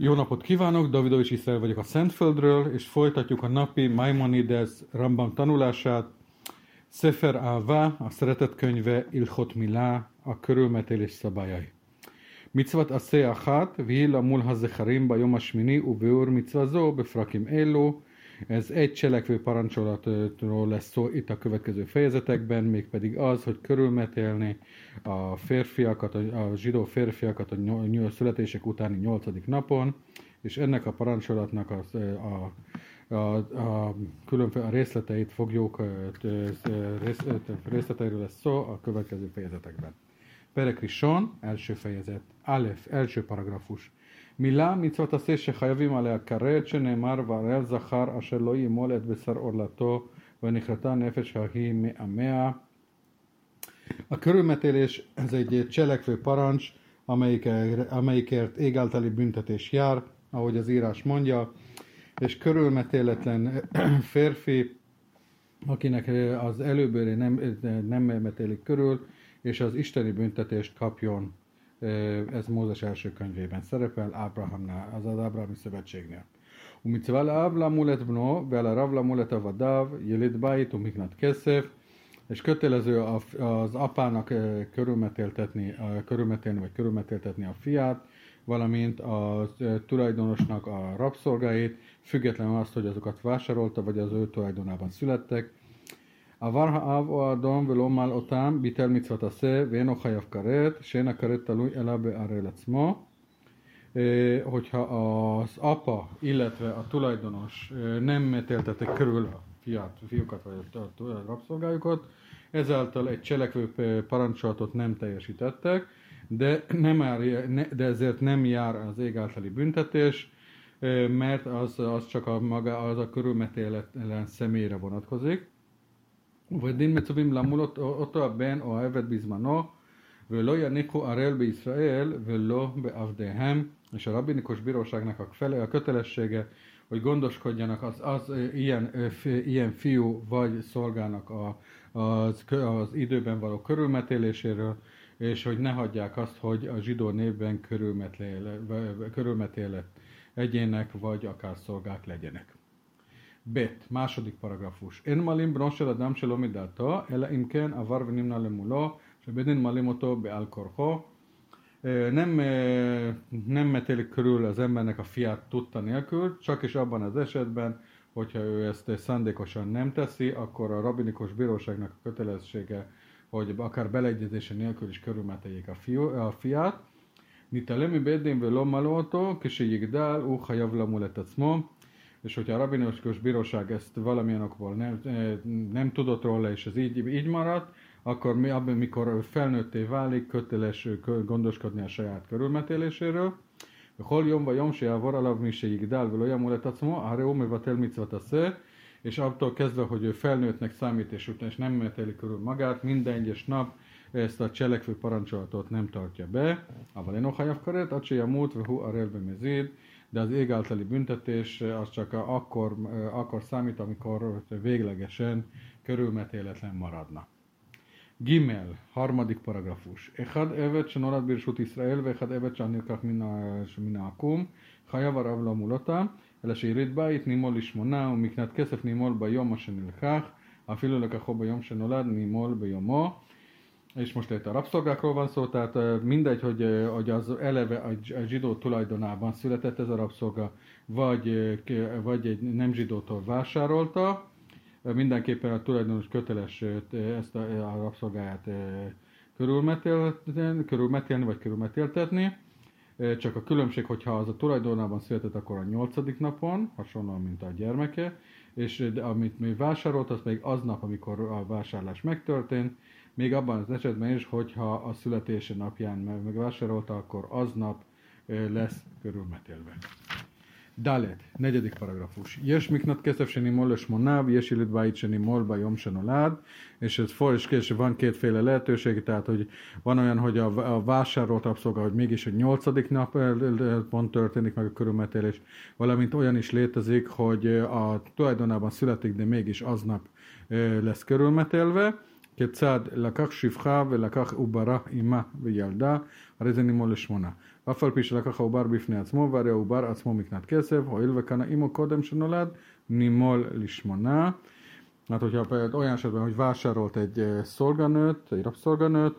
Jó napot kívánok, Davidovics Iszrael vagyok a Szentföldről, és folytatjuk a napi Maimonides Rambam tanulását. Sefer Ava, a szeretet könyve, Ilchot Milá, a körülmetélés szabályai. Mitzvat aseh achat, vihi lamul hazecharim bajom ashmini, ubeur mitzvazó, befrakim elu. Ez egy cselekvő parancsolatról lesz szó itt a következő fejezetekben, mégpedig az, hogy körülmetélni a férfiakat, a zsidó férfiakat a születések utáni 8. napon, és ennek a parancsolatnak a különféle részleteit fogjuk, részleteiről lesz szó a következő fejezetekben. Perek Rishon, első fejezet, Alef, első paragrafus. מילה מצוות עשה שחייבים עליה כרת שנאמר והראל זכר אשר לא ימול את בשר עורלתו ונכרתה נפש ההיא מעמיה. A körülmetélés ez egy cselekvő parancs, amelyikért ég általi büntetés jár, ahogy az írás mondja, és körülmetéletlen férfi, akinek az előbőré nem metélik körül, és az isteni büntetést kapjon. Ez Mózes első könyvében szerepel, Ábrahámnál, az Ábrahami szövetségnél. Umitzvá le'av lamulet bno, ve'al rav lamulet avadav, yelid bait umiknat keszef, és kötelező az apának körülmetéltetni a fiát, valamint a tulajdonosnak a rabszolgáit, függetlenül azt, hogy azokat vásárolta, vagy az ő tulajdonában születtek. עבר האב או האדום ולא מל אותם, ביטל מצוות עשה ואינו חייב כרת, שאין הכרת תלוי אלא בערל עצמו. Hogyha az apa, illetve a tulajdonos nem metéltetik körül a fiúkat vagy a rabszolgájukat, ezáltal egy cselekvő parancsolatot nem teljesítettek, de ezért nem jár az ég általi büntetés, mert az csak az a körülmetéletlen személyre vonatkozik. ובדין מצווים למול אותו הבן או העבד בזמנו, ולא יניחו ערל בישראל ולא בעבדיהם. És a rabbinikus bíróságnak a kötelessége, hogy gondoskodjanak az ilyen fiú vagy szolgának az időben való körülmetéléséről, és hogy ne hagyják azt, hogy a zsidó névben körülmetélet egyének vagy akár szolgák legyenek. Bet, második paragrafus. En malim bno shel adam shelo midato, ela im ken avar venimna lemulo, shebedin malim oto be'al korcho. Nem metélik körül az embernek a fiát tudta nélkül, csak is abban az esetben, hogyha ő ezt szándékosan nem teszi, akkor a rabbinikus bíróságnak a kötelessége, hogy akár beleegyezése nélkül is körülmeteljék a fiát. Nitalemi bedin velo malo oto, kishe yigdal, u chayav lamul et atzmo. És hogyha a rabbinikus bíróság ezt valamilyen okból nem tudott róla, és ez így maradt, akkor mikor felnőtté válik, köteles gondoskodni a saját körülmetéléséről. Hol jom vagy jom se javor alav mi se yigdal velo yamul et atzmo, areu mevatel mitzvat aseh, és attól kezdve, hogy ő felnőttnek számít, és nem metéli körül magát, minden egyes nap ezt a cselekvő parancsolatot nem tartja be. Aval eno chayav karet, ad se yamut vehu arel bemezid. De az ég általi büntetés az csak akkor számít, amikor véglegesen körülmetéletlen maradna. Gimel, harmadik paragrafus. Echad evet שנולד ברשות ישראל ואחד evet שנלקח מן העקום, חייב הרב למולותה, אלא שיריד בית נימול לשמונה ומקנת כסף נימול ביום שנלקח, אפילו לקחו ביום שנולד נימול ביומו. És most itt a rabszolgákról van szó, tehát mindegy, hogy az eleve a zsidó tulajdonában született ez a rabszolga, vagy egy nem zsidótól vásárolta, mindenképpen a tulajdonos köteles ezt a rabszolgáját körülmetélni vagy körülmetéltetni. Csak a különbség, hogyha az a tulajdonában született, akkor a 8. napon, hasonlóan, mint a gyermeke, és amit még vásárolt, az még aznap, amikor a vásárlás megtörtént, még abban az esetben is, hogyha a születése napján megvásárolta, akkor aznap lesz körülmetélve. Dalet, negyedik paragrafus. Yes miknat kesef shenimol lesmonav, yes ilit bait shenimol bajom shenolad, és ez van kétféle lehetőség, tehát hogy van olyan, hogy a vásárolt rabszolga, hogy mégis a 8. napon történik meg a körülmetélés, valamint olyan is létezik, hogy a tulajdonában születik, de mégis aznap lesz körülmetélve, כיצד לקח שפחה ולקח עוברה עמה וילדה, הרי זה נימול לשמונה. אף על פי שלקח העובר בפני עצמו, והרי העובר עצמו מקנת כסף, הואיל וקנה עמו קודם שנולד, נימול לשמונה. Hát, hogyha például olyan esetben, hogy vásárolt egy szolganőt, egy rabszolganőt,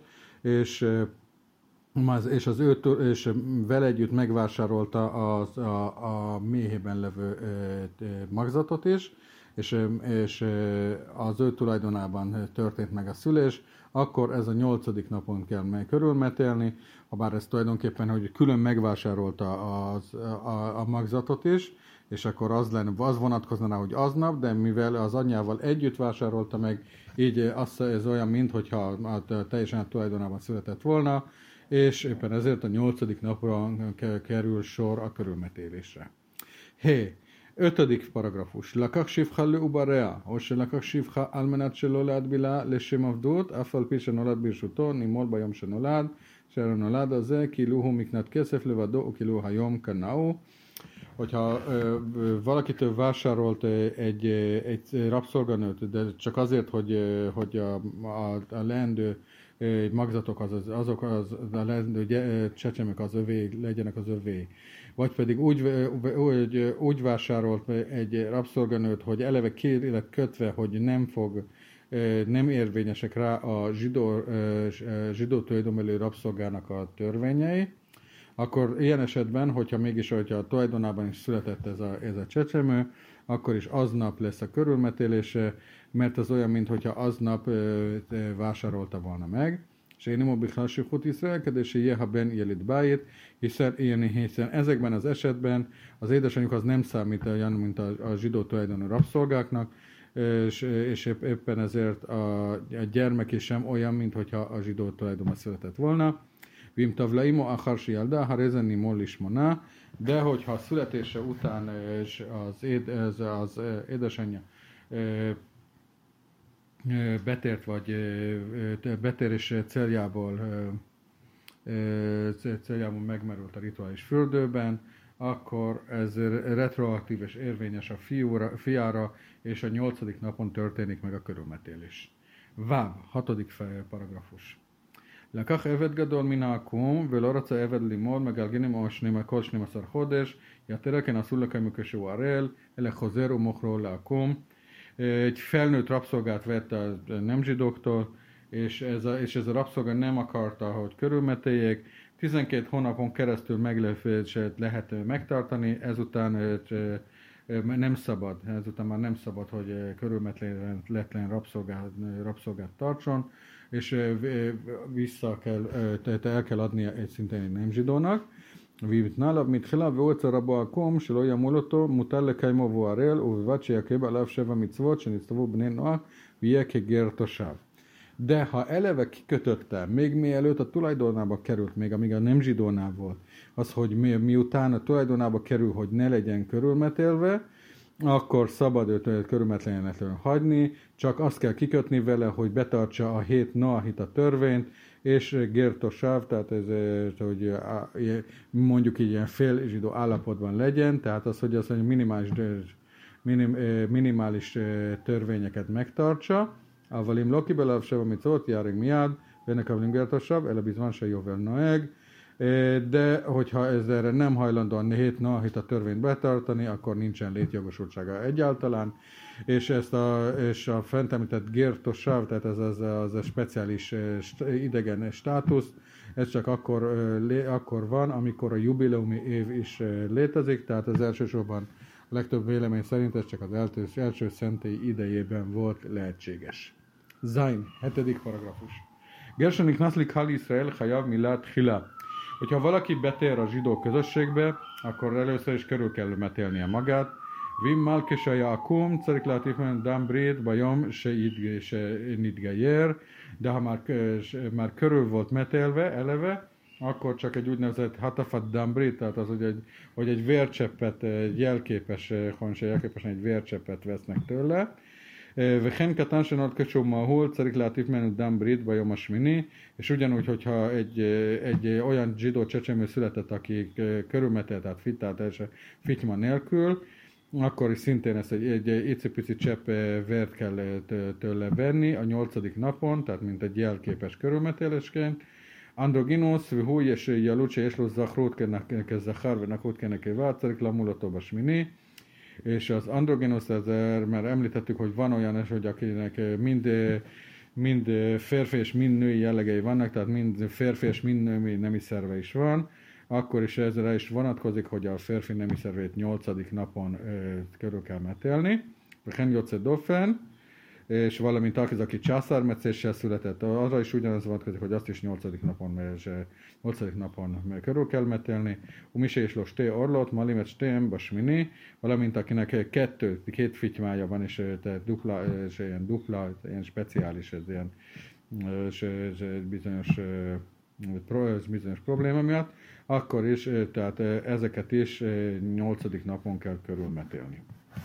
és és vele együtt megvásárolta a méhében levő magzatot is, és az ő tulajdonában történt meg a szülés, akkor ez a 8. napon kell meg körülmetélni, habár ez tulajdonképpen, hogy külön megvásárolta a magzatot is, és akkor az vonatkozna, hogy aznap, de mivel az anyjával együtt vásárolta meg, így ez olyan, mintha teljesen a tulajdonában született volna, és éppen ezért a 8. napra kerül sor a körülmetélésre. 5. paragrafus. לקח שפחה לעובריה, או שלקח שפחה על מנת שלא להטבילה לשם עבדות, אף על פי שנולד ברשותו, נימול ביום שנולד, שהנולד הזה כאילו הוא מקנת כסף לבדו, וכאילו היום קנאו. Hogyha valakitől vásárolt egy rabszolganőt, de csak azért, hogy a leendő magzatok, azok a leendő csecsemek az övé, legyenek az övé. Vagy pedig úgy vásárolt egy rabszolganőt, hogy eleve kérileg kötve, hogy nem érvényesek rá a zsidó tulajdonbeli rabszolgának a törvényei, akkor ilyen esetben, hogyha a tulajdonában is született ez a csecsemő, akkor is aznap lesz a körülmetélése, mert az olyan, mintha aznap vásárolta volna meg. És én nem bichlásifut iszrelkedési jeha ben jelit bájét, hiszen ezekben az esetben az édesanyjuk az nem számít olyan, mint a zsidó tulajdonú rabszolgáknak, és éppen ezért a gyermek is sem olyan, mintha a zsidó tulajdonban született volna. Vim tavlaimo acharsi jelda, ha rezeni mollis mona, de hogyha születése után az édesanyja betért, vagy betérés céljából megmerült a rituális fürdőben, akkor ez retroaktív és érvényes a fiára, és a 8. napon történik meg a körülmetélés. Váb, 6. paragrafus. לקח עבד גדול מן העקום, ולא רצה עבד לימוד, מגלגלים או כל 12 חודש, יתר כן אסור לקיים כשהוא ערל, אלא חוזר ומוכרו לעקום. Egy felnőtt rabszolgát vett a nem zsidóktól, és ez a rabszolga nem akarta, hogy körülmetéljék. 12 hónapon keresztül meglepését lehet megtartani, ezután már nem szabad, hogy körülmetlen rabszolgát tartson, és el kell adnia egy szintén egy nem zsidónak. ויתנעליו מתחילה והוא אצל רבו עקום שלא ימול אותו, מותר לקיימו והוא ערל, ובלבד שיקיים עליו 7 מצוות שנצטוו בני נוח ויהיה כגר תושב. De ha eleve kikötötte, még mielőtt a tulajdonába került, még amíg a nem zsidónál volt, az, hogy miután a tulajdonába kerül, hogy ne legyen körülmetélve, akkor szabad őt körülmetlenül hagyni, csak azt kell kikötni vele, hogy betartsa a 7 noahita törvényt, és gertosáv, tehát ez, hogy mondjuk így ilyen fél zsidó állapotban legyen, tehát az, hogy minimális törvényeket megtartsa, avalim loki belav seva mitzvot, járeg miád, benne avlim gertosáv, ele bizvan se jóvel noeg, de hogyha erre nem hajlandó a 7 noahita törvényt betartani, akkor nincsen létjogosultsága egyáltalán, és a fent említett gertosáv, tehát ez az a speciális idegen státusz, ez csak akkor van, amikor a jubileumi év is létezik, tehát az elsősorban a legtöbb vélemény szerint ez csak az első szentély idejében volt lehetséges. Zain, 7. paragrafus. Gershon Knaszlik Hal Israel Hayav Milat Hila. Hogyha valaki betér a zsidó közösségbe, akkor először is körül kell metélnie magát. Vim Malkesha Akum, Carik Latifan Dambrid, Bajom, se Nidgeyer, de ha már körül volt metélve eleve, akkor csak egy úgynevezett Hatafat Dambrid, tehát az, hogy egy vércseppet, egy jelképesen egy vércseppet vesznek tőle. וכן קטן שנולד כשהוא מהול צריך להטיף ממנו דם ברית ביום השמיני, és ugyanúgy, hogyha egy olyan zsidó csecsemő született, aki körülmetelt, tehát fittyma nélkül, akkor is szintén ezt egy icipici csepp vért kell tőle venni a 8. napon, tehát mint egy jelképes körülmetélésként. Androginos, והוא ילות שיש לו זכרות כזכר ונחות כנקבה, צריך למול אותו בשמיני. És az androginos, mert említettük, hogy van olyan, hogy akinek mind férfi és mind női jellegei vannak, tehát mind férfi és mind női nemi szerve is van, akkor is ezre is vonatkozik, hogy a férfi nemi szervét 8. napon körül kell metélni. Chen Jocse Dofen, és valamint aki császármetszéssel született, arra is ugyanaz vonatkozik, hogy azt is 8. napon körül kell metélni. Umise és los té orlot, malimet stém, basmini, valamint akinek két fitymája van, és ilyen dupla, ilyen speciális, ez ilyen bizonyos probléma miatt, akkor is, tehát ezeket is 8. napon kell körülmetélni.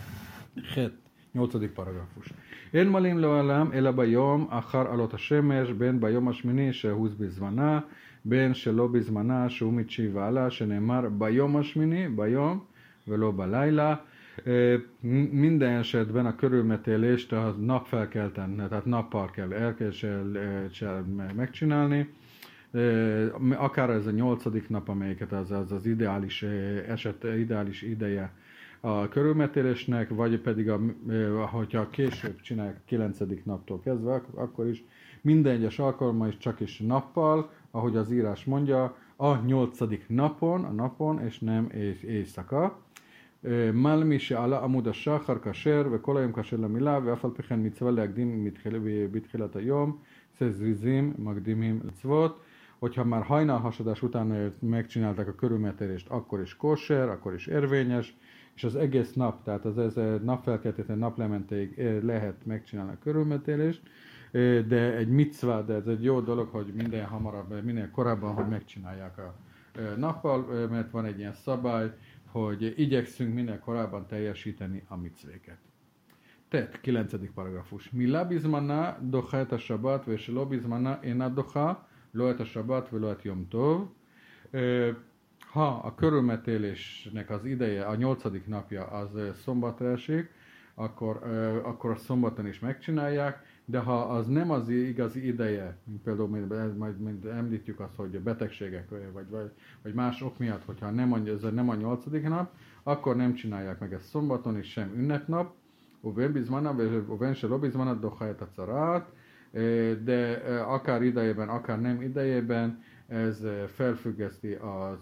8. paragrafus. אין מלאים לעולם אלא ביום אחר עלות השמש, בין ביום השמיני שהוז בזמנה, בין שלא בזמנה שהוא מתשיעי והלאה, שנאמר ביום השמיני, ביום ולא בלילה. Minden esetben a körülmetélést a napfelkelten, tehát nappal kell megcsinálni. Akár ez a 8. nap, amelyiket az ideális ideális ideje a körülmetélésnek, vagy pedig hogyha később csinálják 9. naptól kezdve, akkor is minden egyes alkalommal is csak is nappal, ahogy az írás mondja, a 8. napon, a napon, és nem éjszaka. Malmi se ala amud השחר כשר וכל היום כשר למילה ואף על פי כן מצווה להקדים בתחילת היום זריזים מקדימים לצוות. Hogyha már hajnalhasadás után megcsinálták a körülmetélést, akkor is kóser, akkor is érvényes, és az egész nap, tehát az napfelkeltétől naplementéig lehet megcsinálni a körülmetélést, de egy micva, de ez egy jó dolog, hogy minél korábban, hogy megcsinálják a nappal, mert van egy ilyen szabály, hogy igyekszünk minél korábban teljesíteni a micvéket. Tehát 9. paragrafus. Mila bizmana docha et a sabat, és lo bizmana ena docha, lo et a sabat, lo et yom tov. Ha a körülmetélésnek az ideje, a 8. napja az szombatra esik, akkor a szombaton is megcsinálják, de ha az nem az igazi ideje, például majd említjük azt, hogy betegségek vagy más ok miatt, hogyha ez nem a 8. nap, akkor nem csinálják meg ezt szombaton is, sem ünnepnap, uven se lobizmana dohajt a carát, de akár idejében, akár nem idejében, ez felfüggeszti a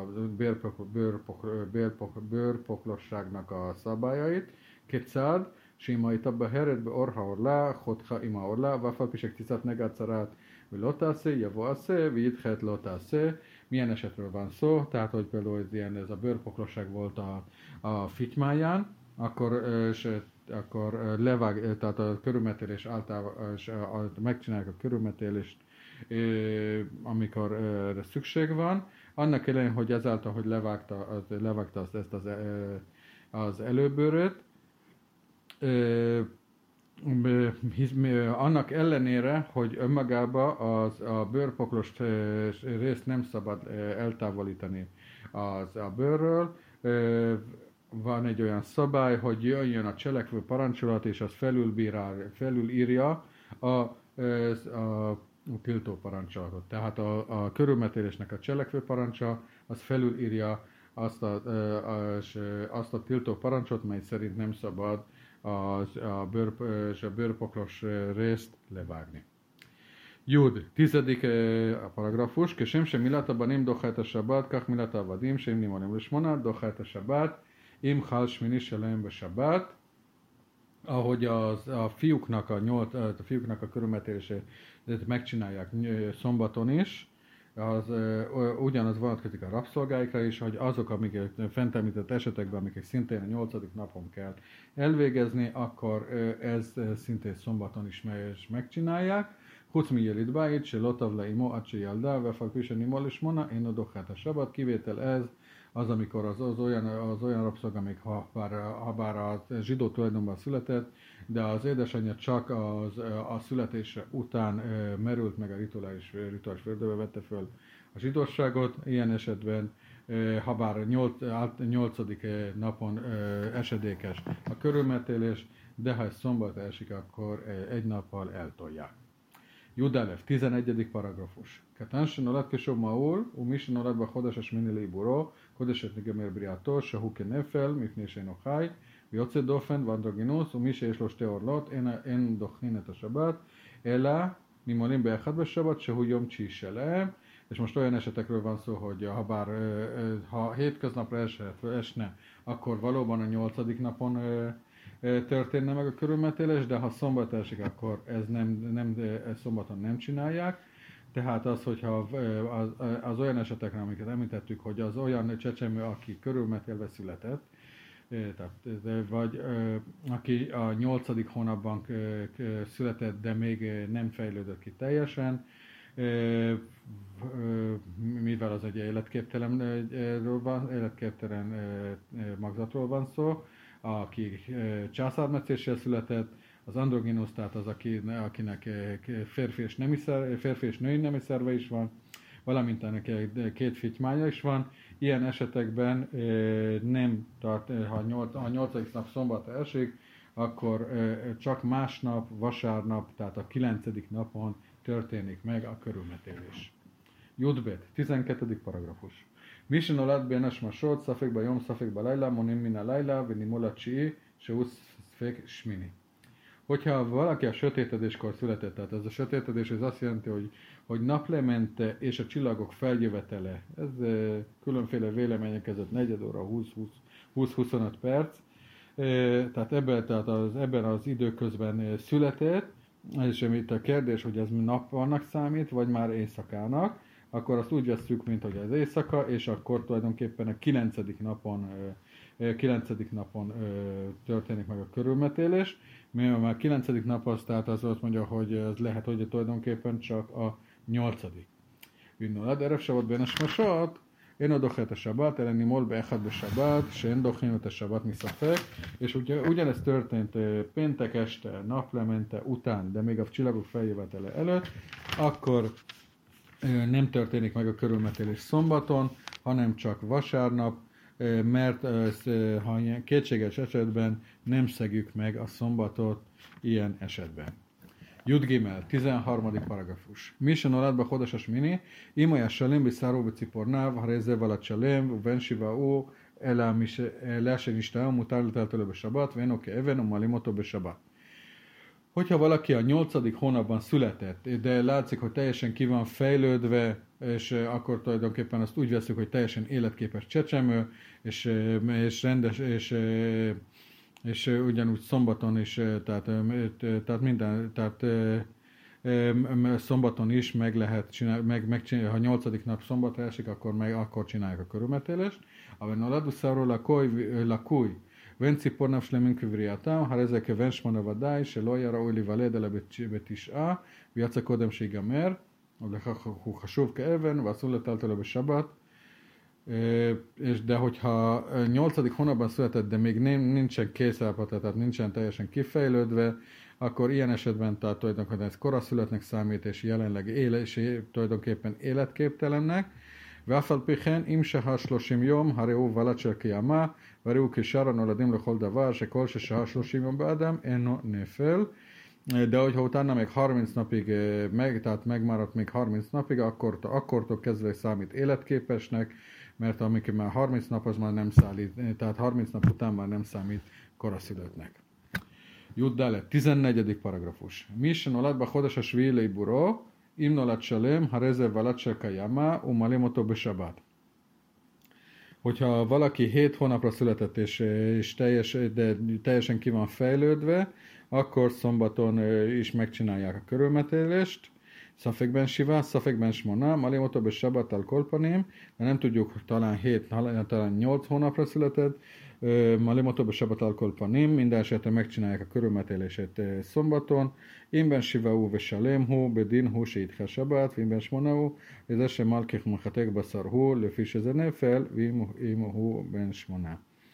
bőrpoklosságnak a szabályait. Kétszád, Sima itabba heret be orha orla, chodha ima orla, vafal pisek tiszat negácarát, vagy lotászé, javoászé, vidhet lotászé. Milyen esetről van szó? Tehát, hogy például ez a bőrpoklosság volt a fitymáján, akkor levág, tehát a körülmetélés általában megcsinálják a körülmetélést, amikor erre szükség van. Annak ellenére, hogy ezáltal, hogy levágta ezt az előbőröt, annak ellenére, hogy önmagában a bőrpoklos részt nem szabad eltávolítani a bőrről, van egy olyan szabály, hogy jöjjön a cselekvő parancsolat, és az felülírja a tiltó parancsolatot. Tehát a körülmetélésnek a cselekvő parancsa, az felülírja azt a tiltó parancsot, mely szerint nem szabad a bőrpoklos részt levágni. Jud, 10. paragrafus, כשם שמילת הבנים דוחה את השבת, כך מילת העבדים שהם נמונים לשמונה, דוחה את השבת, אם חל שמיני שלהם בשבת. Ahogy a fiúknak a körülmetélését megcsinálják szombaton is, ugyanaz vonatkozik a rabszolgáikra is, hogy azok, amik fent említett esetekben, amiket szintén a 8. napon kell elvégezni, akkor ez szintén szombaton is megcsinálják. Huc mi jelit bájt, se lotav le imo, acsi jaldá, vefak pisen imo lismona, én a dohát a sabat, kivétel ez, az, amikor az olyan rabszolga, még ha bár a zsidó tulajdonban született, de az édesanyja csak a születése után merült meg a rituális földbe, vette föl a zsidóságot, ilyen esetben habár 8. napon esedékes a körülmetélés, de ha ez szombat esik, akkor egy nappal eltolják. Judalev, 11. paragrafus. Katan שנולד כשוב מעול, ומי שנולד בחודש השמיני לעיבורו, חודש נגמר בריאתו, שהוא כנפל, מפני שאינו חי, ויוצא דופן ואנדרוגינוס, ומי שיש לו שתי עורלות, אין דוחין את השבת, אלא ממולים באחד בשבת, שהוא יום תשיעי שלהם. És most olyan esetekről van szó, hogy ha hétköznapra esne, akkor valóban a 8. napon történne meg a körülmetélés, de ha szombat esik, akkor ezt szombaton nem csinálják. Tehát az, hogyha az olyan esetekre, amiket említettük, hogy az olyan csecsemő, aki körülmetélve született, vagy aki a 8. hónapban született, de még nem fejlődött ki teljesen, mivel az egy életképtelen magzatról van szó, aki császármetszéssel született, az androginus, tehát az, akinek férfi és női nemi szerve is van, valamint ennek 2 fitymánya is van. Ilyen esetekben nem tart, ha a 8. nap szombatra esik, akkor csak másnap, vasárnap, tehát a 9. napon történik meg a körülmetélés. Judbet, 12. paragrafus. מי שנולד בין השמשות, ספק ביום, ספק בלילה, מונים מן הלילה, ונימול התשיעי, שהוא ספק שמיני. Hogyha valaki a sötétedéskor született, tehát ez a sötétedés, ez azt jelenti, hogy naplemente és a csillagok feljövetele, ez különféle vélemények között 4 óra 20-25 perc, tehát ebben az időközben született, és itt a kérdés, hogy ez nappalnak számít, vagy már éjszakának, akkor azt úgy vesszük, mint hogy az éjszaka, és akkor tulajdonképpen a 9. napon történik meg a körülmetélés. Mivel már 9. nap az, tehát az azt mondja, hogy ez lehet, hogy tulajdonképpen csak a 8. Vinnolad, erev sabat ben esmasat, én a dochet a sabat, eleni mol beechad be sabat, se én dochinut a sabat miszafek, és ugyanez történt péntek este, naplemente után, de még a csillagok feljövetele előtt, akkor nem történik meg a körülmetélés szombaton, hanem csak vasárnap, mert ha kétséges esetben nem szegjük meg a szombatot ilyen esetben. Jud Gimel, 13. paragrafus. Mi שנולד בחודש השמיני, אם היה שלם בשרו ובציפורניו, הרי זה ולד שלם, ובין שבעו אלא שנשתהה ומותר לטלטלו בשבת, ואינו כאבן ומעלים אותו בשבת. Hogyha valaki a 8. hónapban született, de látszik, hogy teljesen ki van fejlődve, és akkor tulajdonképpen azt úgy veszük, hogy teljesen életképes csecsemő, és rendes, és ugyanúgy szombaton is, tehát szombaton is meg lehet csinálni, ha 8. nap szombatra esik, akkor csinálják a körülmetélést. Aber noladuszáról lakúj, ואין ציפורניו שלמים כבריאתם, הרי זה כבן 8 ודאי, שלא היה ראוי להיוולד אלא ב9, ויצא קודם שיגמר, ולכך הוא חשוב כאבן, ואסור לטלטלו בשבת. De hogyha 8. hónapban született, de még nincsen készállapota, tehát nincsen teljesen kifejlődve, akkor ilyen esetben tehát tulajdonképpen ez koraszülöttnek számít, és jelenleg tulajdonképpen életképtelennek. ואף על פי כן, אם שהה 30 יום, הרי הוא ולד של קיימא, והרי הוא כשאר הנולדים לכל דבר, שכל ששהה 30 יום באדם, אינו נפל. De hogyha utána még 30 napig, tehát megmaradt még 30 napig, akkortól kezdve számít életképesnek, mert amikor már 30 nap, az már nem számít, tehát 30 nap után már nem számít koraszülöttnek. Juddalet, 14. paragrafus. Mi שנולד בחודש השביעי לעיבורו, אם נולד שלם, הרי זה ולד של קיימא, ומעלים אותו בשבת. Hogyha valaki 7 hónapra született, és teljesen ki van fejlődve, akkor szombaton is megcsinálják a körülmetélést. Szafekben sivá, szafekben smona, malim otto be sabat al kolpanim, de nem tudjuk, talán 8 hónapra született, malim otto be sabat al kolpanim, minden esetre megcsinálják a körülmetélését szombaton. Imben siváú ve salemhu, bedinhu se itcha sabat, imben smonaú, ez ese malkich machatek baszarhu, löfis ez a nefel, vimuhu ben smona.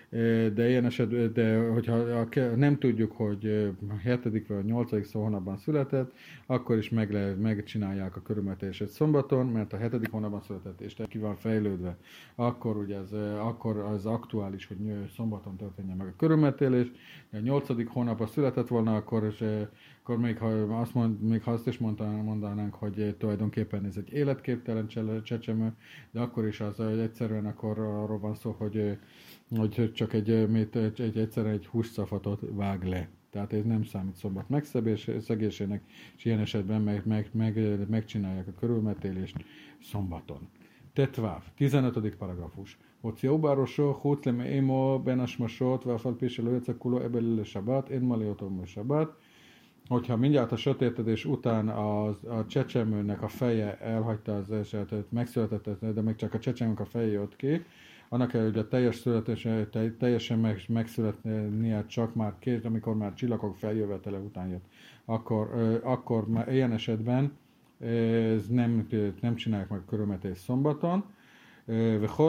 de ilyen esetben, de hogyha nem tudjuk, hogy a 7. vagy a 8. hónapban született, akkor is megcsinálják a körülmetélését szombaton, mert a 7. hónapban született, és ki van fejlődve, akkor ugye akkor az aktuális, hogy szombaton történjen meg a körülmetélés. A 8. hónapban született volna, akkor még ha azt is mondanánk, hogy tulajdonképpen ez egy életképtelen csecsemő, de akkor is az egyszerűen akkor arról van szó, hogy csak egyszerűen egy hússzafatot vág le. Tehát ez nem számít szombat megszegésének, és ilyen esetben megcsinálják a körülmetélést szombaton. Tetváv, 15. paragrafus. Hoció bárosó, hótleme émo, benasmasot, váfalpése lőcekuló, ebelile sabat, én maliotom sabat. Hogyha mindjárt a sötétedés után a csecsemőnek a feje elhagyta az esetet, megszületett, de még csak a csecsemőnek a feje jött ki, annak ellenére, hogy a teljes születése teljesen megszületnie csak már amikor már csillagok feljövetele után jött. Akkor már ilyen esetben ez nem csinálják meg körülmetés szombaton. וכל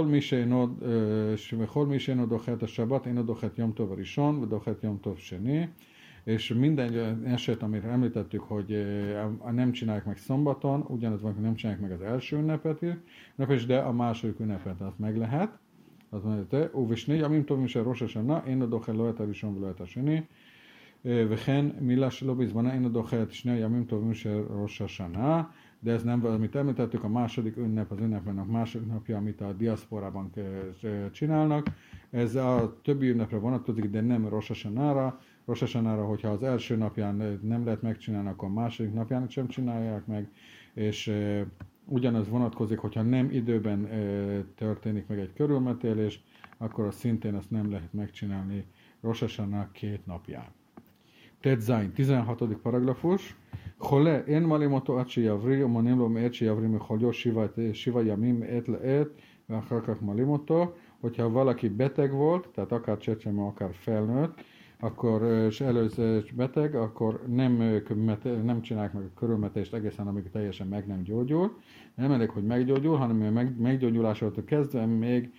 מי שאינו דוחה את השבת, אינו דוחה את יום טוב הראשון ודוחה את יום טוב שני. És minden eset, amire említettük, hogy nem csinálják meg szombaton, ugyanaz van, hogy nem csinálják meg az első ünnepet is, de a második ünnepet azt meg lehet. Az mondja, uvishni, amim tovim se rosh hashana, én a dochel lo et harishon velo et hasheni, וכן מילה שלא בזמנה אינו דוחה את שני הימים טובים של ראש השנה, de ez nem, amit említettük, a második ünnep, az ünnepnek a második napja, amit a diaszporában csinálnak. Ez a többi ünnepre vonatkozik, de nem Rosh Hashanára. Rosh Hashanára, hogyha az első napján nem lehet megcsinálni, akkor a második napján sem csinálják meg, és ugyanaz vonatkozik, hogyha nem időben történik meg egy körülmetélés, akkor szintén azt nem lehet megcsinálni Rosh Hashanah 2 napján. Tetzain, 16. paragrafus. חולה, אין מעלים אותו עד שיבריא, ומונים לו מעת שיבריא מחוליו 7 ימים מעת לעת, ואחר כך מעלים אותו. Hogyha valaki beteg volt, tehát akár csecsemő, akár felnőtt, akkor és előző beteg, akkor nem csinálják meg a körülmetést egészen, amíg teljesen meg nem gyógyul. Nem elég, hogy meggyógyul, hanem a meggyógyulásától kezdve még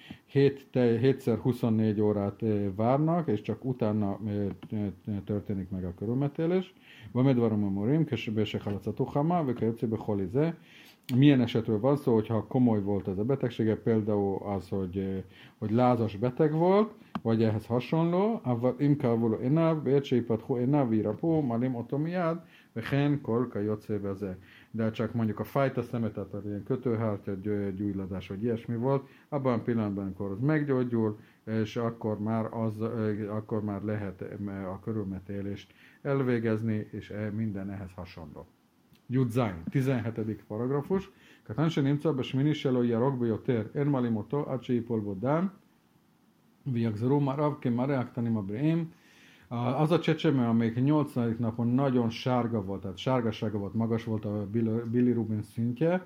7x24 órát várnak, és csak utána történik meg a körülmetélés. Vamedvarom a morim, kesebése halacatuhama, vekajöcébe holize. Milyen esetről van szó, hogyha komoly volt ez a betegsége, például az, hogy lázas beteg volt, vagy ehhez hasonló, avval imkávuló enáv, vércseipadhó enáv, virapó, malim otomiád, vehen kolka jocébeze. De csak mondjuk a fájta szemet, tehát ilyen kötőhártya, gyújladás, vagy ilyesmi volt, abban a pillanatban, amikor az meggyógyul, és akkor már lehet a körülmetélést elvégezni, és minden ehhez hasonló. Yudzain, 17. paragrafus. קטן שנמצא בשמיני שלו ירוק ביותר, אין מעלים אותו עד שיפול בו דם, ויחזרו מראה כמראה הקטנים הבריאים. Az a csecsemő, amelyik 8. napon nagyon sárga volt, tehát sárgasága volt, magas volt a bilirubin szintje,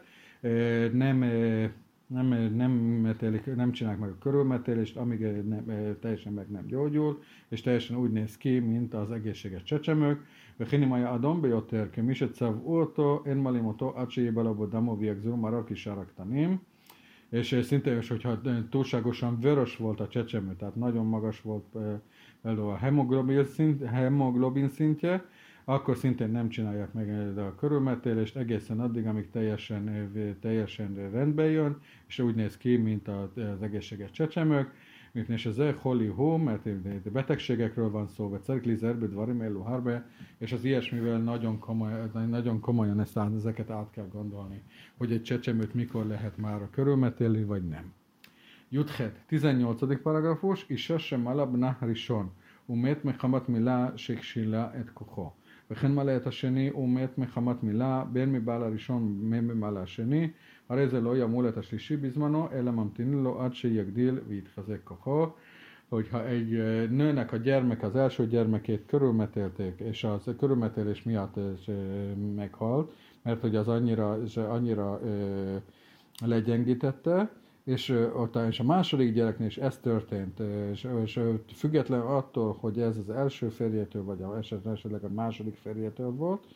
nem csinálják meg a körülmetélést, amíg teljesen meg nem gyógyul, és teljesen úgy néz ki, mint az egészséges csecsemők. וכן אם היה אדום ביותר, כמי שצבעו אותו, אין מעלים אותו עד שיהיה בלבו דמו ויחזרו מראה כשאר הקטנים. És szintén, hogyha túlságosan vörös volt a csecsemő, tehát nagyon magas volt például a hemoglobin szintje, akkor szintén nem csinálják meg a körülmetélést egészen addig, amíg teljesen rendbe jön, és úgy néz ki, mint az egészséges csecsemők. És ez holi hó, mert betegségekről van szó, vagy cerklizerbe, dvarim eluharbe, és az ilyesmivel nagyon komolyan ezeket át kell gondolni, hogy egy csecsemőt mikor lehet már körülmetélni, vagy nem. Juthet, 18. paragrafus, Isha shemala bna rishon, umet mechamat mila sheksila et kocho. וכן מלא את השני ומת מחמת מילה, בין מבעל הראשון מבעל השני, הרי זה לא ימול את השלישי בזמנו, אלא ממתינים לו עד שיגדיל ויתחזק כוחו. Hogyha egy nőnek a gyermek az első gyermekét körülmetélték, és az körülmetélés miatt meghalt, mert hogy az annyira legyengítette, és a második gyereknél is ez történt, és független attól, hogy ez az első férjétől, vagy esetleg a második férjétől volt,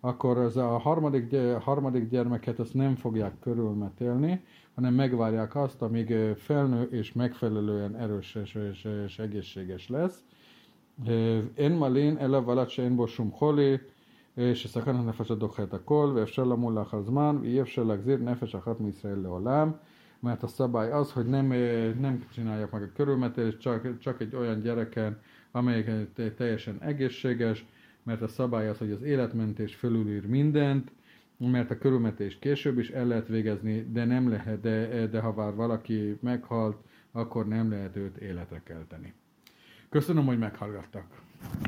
akkor az a harmadik gyermeket azt nem fogják körülmetélni, hanem megvárják azt, amíg felnő és megfelelően erős és egészséges lesz. אין מלין אלא ולד שאין בו שום חולי, שסכן הנפש הדוחה את הכל, ואפשר למול לאחר זמן, ואי אפשר להחזיר נפש אחת מישראל לעולם. Mert a szabály az, hogy nem csinálják meg a körülmetélést, csak egy olyan gyereken, amelyik teljesen egészséges, mert a szabály az, hogy az életmentés fölülír mindent, mert a körülmetést később is el lehet végezni, de nem lehet, de ha már valaki meghalt, akkor nem lehet őt életre kelteni. Köszönöm, hogy meghallgattak.